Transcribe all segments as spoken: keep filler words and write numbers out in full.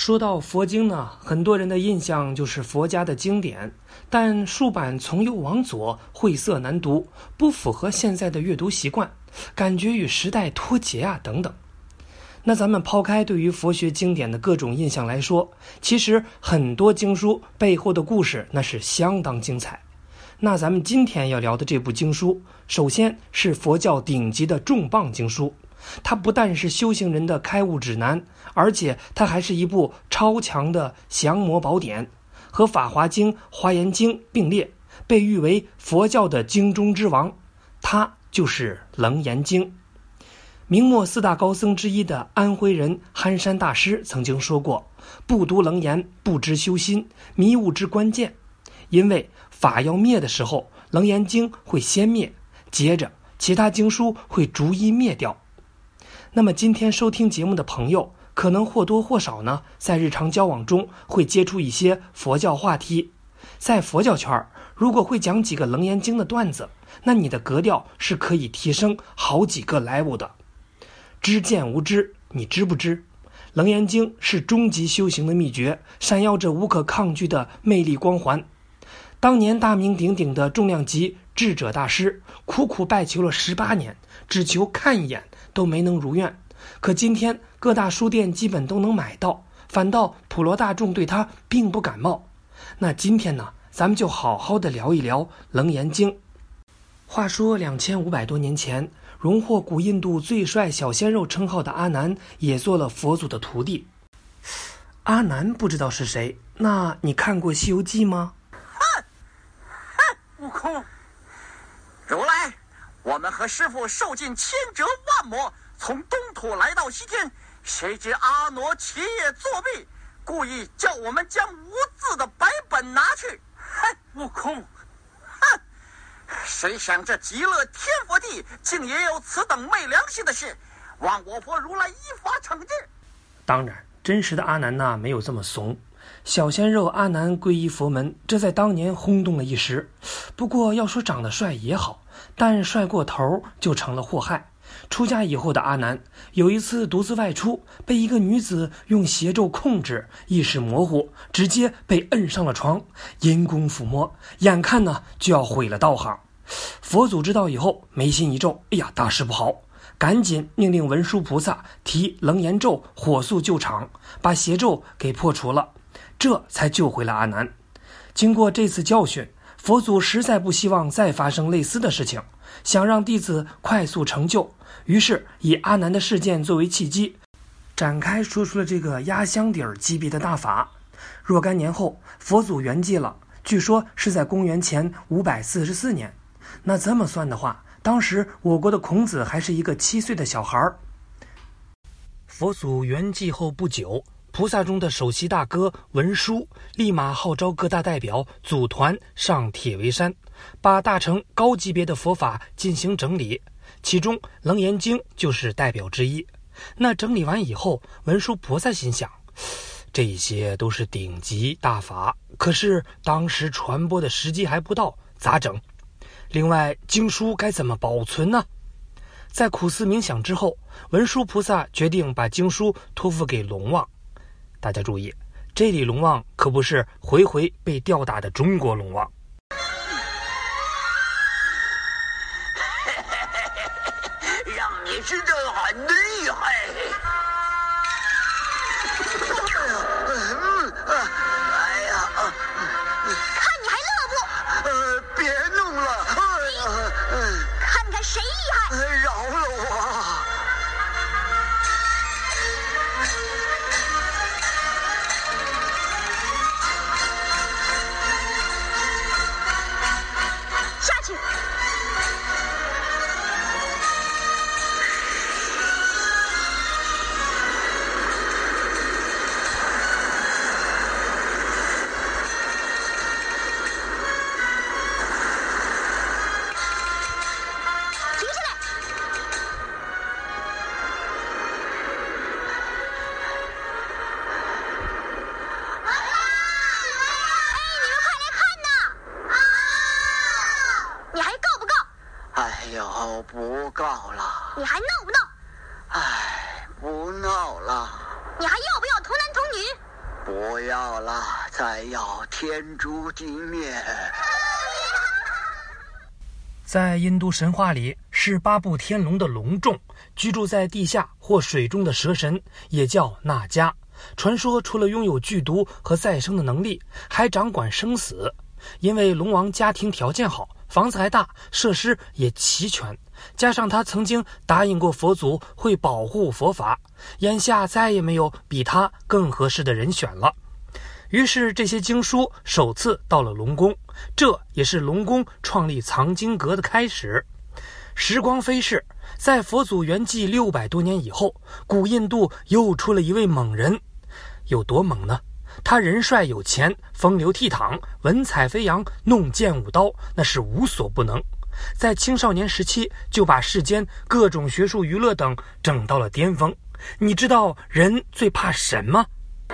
说到佛经呢，很多人的印象就是佛家的经典，但书版从右往左，晦涩难读，不符合现在的阅读习惯，感觉与时代脱节啊等等。那咱们抛开对于佛学经典的各种印象来说，其实很多经书背后的故事那是相当精彩。那咱们今天要聊的这部经书，首先是佛教顶级的重磅经书，它不但是修行人的开悟指南，而且它还是一部超强的降魔宝典，和《法华经》《华严经》并列，被誉为佛教的经中之王。它就是《楞严经》。明末四大高僧之一的安徽人憨山大师曾经说过，不读楞严，不知修心，迷悟之关键。因为法要灭的时候，楞严经会先灭，接着其他经书会逐一灭掉。那么今天收听节目的朋友，可能或多或少呢，在日常交往中会接触一些佛教话题。在佛教圈，如果会讲几个楞严经的段子，那你的格调是可以提升好几个 level 的。知见无知，你知不知？楞严经是终极修行的秘诀，闪耀着无可抗拒的魅力光环。当年大名鼎鼎的重量级智者大师，苦苦拜求了十八年，只求看一眼都没能如愿。可今天各大书店基本都能买到，反倒普罗大众对他并不感冒。那今天呢，咱们就好好的聊一聊楞严经。话说两千五百多年前，荣获古印度最帅小鲜肉称号的阿难也做了佛祖的徒弟。阿难不知道是谁，那你看过《西游记》吗？ 哼哼，悟空，如来，我们和师父受尽千折万磨，从东土来到西天，谁知阿傩起夜作弊，故意叫我们将无字的白本拿去。哼，悟空，哼！谁想这极乐天佛地竟也有此等昧良心的事，望我佛如来依法惩治。 当然，真实的阿难呢，没有这么怂。小鲜肉阿难皈依佛门，这在当年轰动了一时。不过要说长得帅也好，但帅过头就成了祸害。出家以后的阿难有一次独自外出，被一个女子用邪咒控制，意识模糊，直接被摁上了床，阴功抚摸，眼看呢就要毁了道行。佛祖知道以后眉心一皱，哎呀，大事不好，赶紧命令文殊菩萨提楞严咒，火速救场，把邪咒给破除了，这才救回了阿难。经过这次教训，佛祖实在不希望再发生类似的事情，想让弟子快速成就，于是以阿难的事件作为契机，展开说出了这个压箱底儿级别的大法。若干年后，佛祖圆寂了，据说是在公元前五百四十四年。那这么算的话，当时我国的孔子还是一个七岁的小孩。佛祖圆寂后不久，菩萨中的首席大哥文殊立马号召各大代表组团上铁围山，把大乘高级别的佛法进行整理，其中楞严经就是代表之一。那整理完以后，文殊菩萨心想，这些都是顶级大法，可是当时传播的时机还不到，咋整？另外，经书该怎么保存呢？在苦思冥想之后，文殊菩萨决定把经书托付给龙王。大家注意，这里龙王可不是回回被吊打的中国龙王。 让你知道很厉害。哎呀， 看你还乐不？ 呃，别弄了。 看看谁厉害！ 饶了我！ 下去！ 不告了。 你还闹不闹？ 唉，不闹了。 你还要不要童男童女？ 不要了，再要天诛地灭。 在印度神话里，是八部天龙的龙众，居住在地下或水中的蛇神，也叫那迦。传说除了拥有剧毒和再生的能力，还掌管生死。因为龙王家庭条件好，房子还大，设施也齐全，加上他曾经答应过佛祖会保护佛法，眼下再也没有比他更合适的人选了。于是这些经书首次到了龙宫，这也是龙宫创立藏经阁的开始。时光飞逝，在佛祖圆寂六百多年以后，古印度又出了一位猛人。有多猛呢？他人帅有钱，风流倜傥，文采飞扬，弄剑舞刀，那是无所不能。在青少年时期就把世间各种学术娱乐等整到了巅峰。你知道人最怕神吗？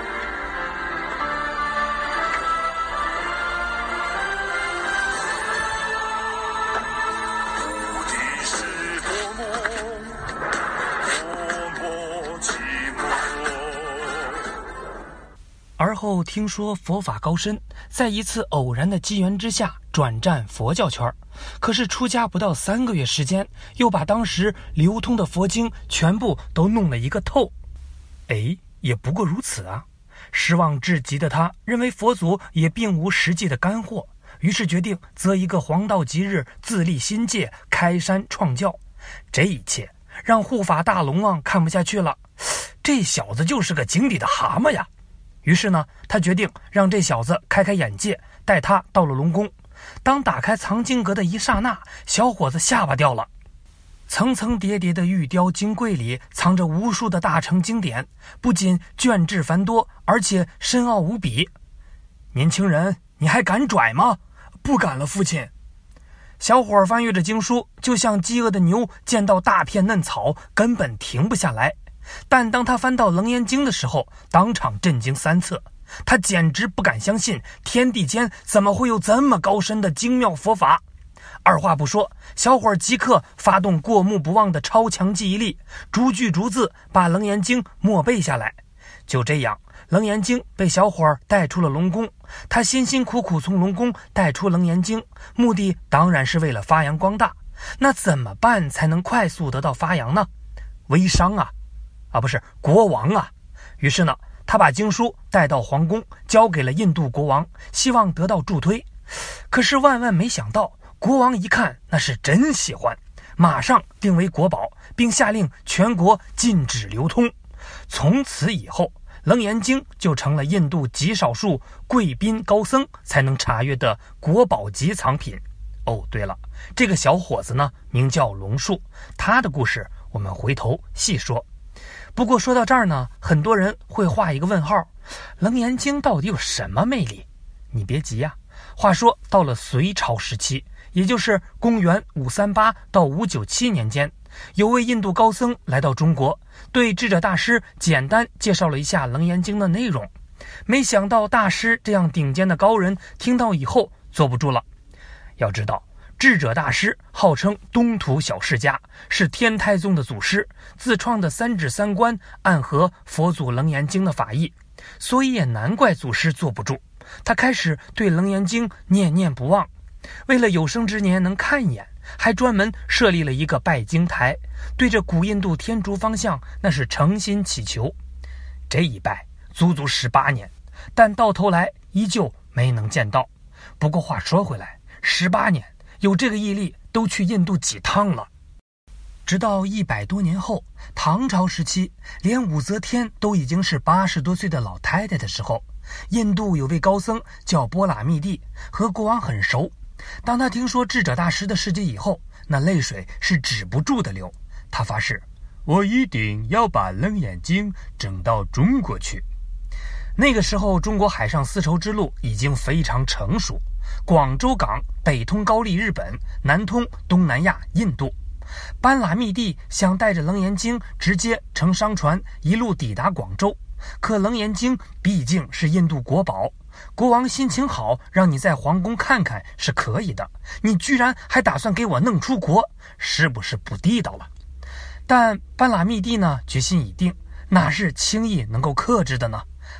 而后听说佛法高深，在一次偶然的机缘之下转战佛教圈，可是出家不到三个月时间，又把当时流通的佛经全部都弄了一个透。哎，也不过如此啊！失望至极的他认为佛祖也并无实际的干货，于是决定择一个黄道吉日自立新界，开山创教。这一切让护法大龙王看不下去了，这小子就是个井底的蛤蟆呀！于是呢，他决定让这小子开开眼界，带他到了龙宫。当打开藏经阁的一刹那，小伙子下巴掉了。层层叠叠的玉雕金柜里藏着无数的大乘经典，不仅卷帙繁多，而且深奥无比。年轻人，你还敢拽吗？不敢了，父亲。小伙翻阅着经书，就像饥饿的牛见到大片嫩草，根本停不下来。但当他翻到楞严经的时候，当场震惊三次。他简直不敢相信，天地间怎么会有这么高深的精妙佛法。二话不说，小伙即刻发动过目不忘的超强记忆力，逐句逐字把楞严经默背下来。就这样，楞严经被小伙带出了龙宫。他辛辛苦苦从龙宫带出楞严经，目的当然是为了发扬光大。那怎么办才能快速得到发扬呢？微商啊啊，不是国王啊！于是呢，他把经书带到皇宫，交给了印度国王，希望得到助推。可是万万没想到，国王一看那是真喜欢，马上定为国宝，并下令全国禁止流通。从此以后，楞严经就成了印度极少数贵宾高僧才能查阅的国宝级藏品。哦，对了，这个小伙子呢，名叫龙树，他的故事我们回头细说。不过说到这儿呢，很多人会画一个问号，楞严经到底有什么魅力？你别急呀、啊，话说到了隋朝时期，也就是公元五三八到五九七年间，有位印度高僧来到中国，对智者大师简单介绍了一下楞严经的内容。没想到大师这样顶尖的高人听到以后坐不住了。要知道，智者大师号称东土小释迦，是天台宗的祖师，自创的三指三观暗合佛祖楞严经的法义，所以也难怪祖师坐不住。他开始对楞严经念念不忘，为了有生之年能看一眼，还专门设立了一个拜经台，对着古印度天竺方向那是诚心祈求。这一拜足足十八年，但到头来依旧没能见到。不过话说回来，十八年有这个毅力，都去印度几趟了。直到一百多年后，唐朝时期，连武则天都已经是八十多岁的老太太的时候，印度有位高僧叫波喇密帝，和国王很熟。当他听说智者大师的事迹以后，那泪水是止不住的流。他发誓，我一定要把楞严经整到中国去。那个时候，中国海上丝绸之路已经非常成熟，广州港北通高丽日本，南通东南亚印度。班喇密帝想带着楞严经直接乘商船一路抵达广州，可楞严经毕竟是印度国宝，国王心情好，让你在皇宫看看是可以的，你居然还打算给我弄出国，是不是不地道了？但班喇密帝呢，决心已定，哪是轻易能够克制的呢？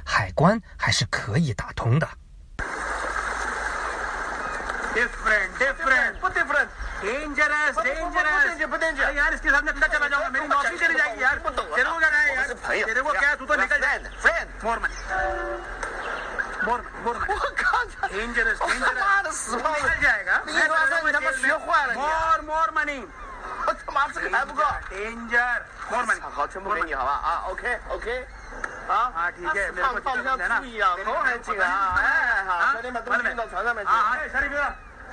海关还是可以打通的。 Different, different, different. Dangerous, dangerous.不 danger, यार इसके साथ मैं अंदर चला जाऊंगा मेरी नौकरी चली जाएगी यार तेरे को क्या है यार तेरे को क्या तू तो निकल जाए friend more money more more money 我靠 dangerous dangerous 妈的死胖子 निकल जाएगा 你他妈你他妈学坏了 more more money 我他妈这个还不够 danger more money 好全部给你好吧啊 OK OK 啊啊ठीक है मेरे को放下注意啊头还紧啊哎好兄弟们都运到船上面去啊哎小李哥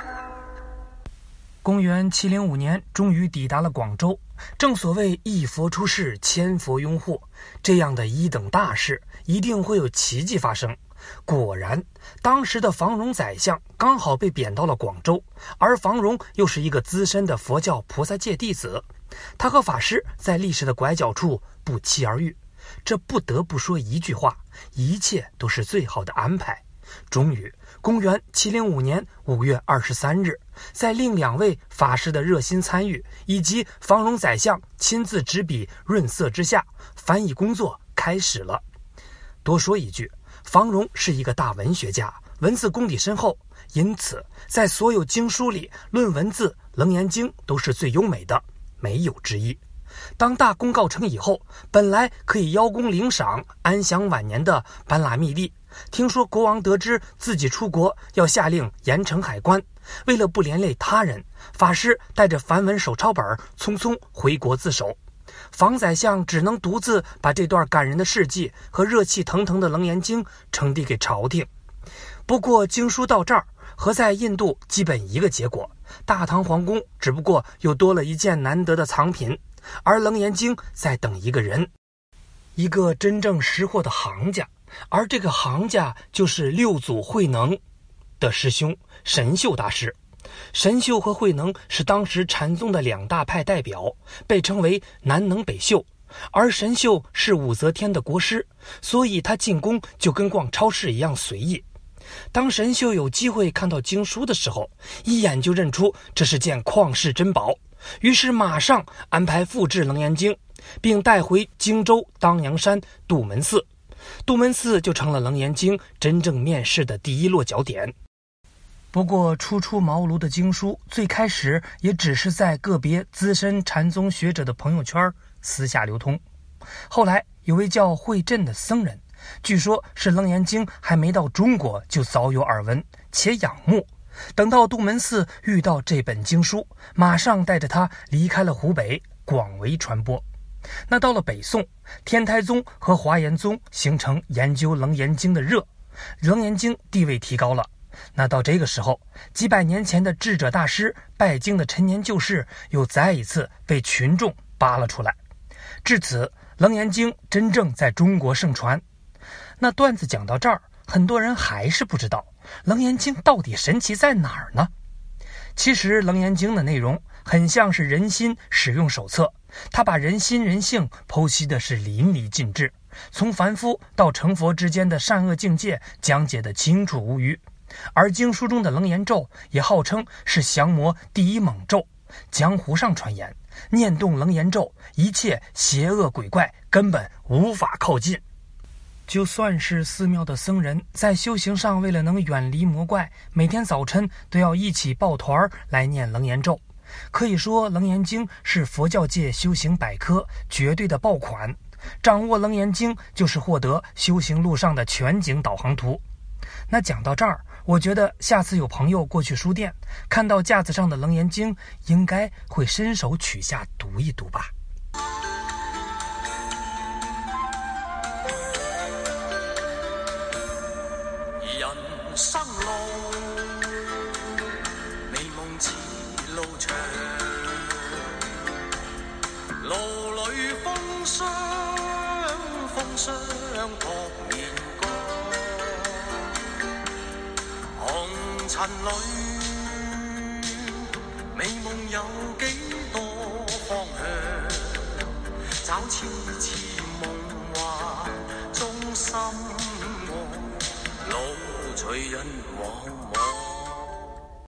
公元七零五年终于抵达了广州，正所谓一佛出世千佛拥护，这样的一等大事一定会有奇迹发生。果然，当时的房荣宰相刚好被贬到了广州，而房荣又是一个资深的佛教菩萨界弟子，他和法师在历史的拐角处不期而遇，这不得不说一句话，一切都是最好的安排。终于公元七零五年五月二十三日，在另两位法师的热心参与以及房荣宰相亲自执笔润色之下，翻译工作开始了。多说一句，房荣是一个大文学家，文字功底深厚，因此在所有经书里论文字，《楞严经》都是最优美的，没有之一。当大功告成以后，本来可以邀功领赏安享晚年的班剌密利，听说国王得知自己出国要下令严惩海关，为了不连累他人，法师带着梵文手抄本匆匆回国自首。房宰相只能独自把这段感人的事迹和热气腾腾的《楞严经》呈递给朝廷。不过经书到这儿和在印度基本一个结果，大唐皇宫只不过又多了一件难得的藏品，而《楞严经》在等一个人，一个真正识货的行家，而这个行家就是六祖慧能的师兄神秀大师。神秀和慧能是当时禅宗的两大派代表，被称为南能北秀，而神秀是武则天的国师，所以他进宫就跟逛超市一样随意。当神秀有机会看到经书的时候，一眼就认出这是件旷世珍宝，于是马上安排复制《楞严经》，并带回荆州当阳山杜门寺。杜门寺就成了《楞严经》真正面世的第一落脚点。不过初出茅庐的经书最开始也只是在个别资深禅宗学者的朋友圈私下流通，后来有位叫慧振的僧人，据说是《楞严经》还没到中国就早有耳闻且仰慕，等到杜门寺遇到这本经书，马上带着他离开了湖北，广为传播。那到了北宋，天台宗和华严宗形成研究楞严经的热，楞严经地位提高了。那到这个时候，几百年前的智者大师拜经的陈年旧事又再一次被群众扒了出来，至此楞严经真正在中国盛传。那段子讲到这儿，很多人还是不知道楞严经到底神奇在哪儿呢？其实楞严经的内容很像是人心使用手册，它把人心人性剖析的是淋漓尽致，从凡夫到成佛之间的善恶境界讲解的清楚无虞。而经书中的楞严咒也号称是降魔第一猛咒，江湖上传言念动楞严咒，一切邪恶鬼怪根本无法靠近。就算是寺庙的僧人，在修行上为了能远离魔怪，每天早晨都要一起抱团来念楞严咒。可以说楞严经是佛教界修行百科绝对的爆款，掌握楞严经就是获得修行路上的全景导航图。那讲到这儿，我觉得下次有朋友过去书店，看到架子上的楞严经，应该会伸手取下读一读吧。 人生路，美夢似路長，路裏風霜，風霜撲面光，紅塵裏，美夢有幾多方向，找次次夢幻中心愛，路隨人茫茫。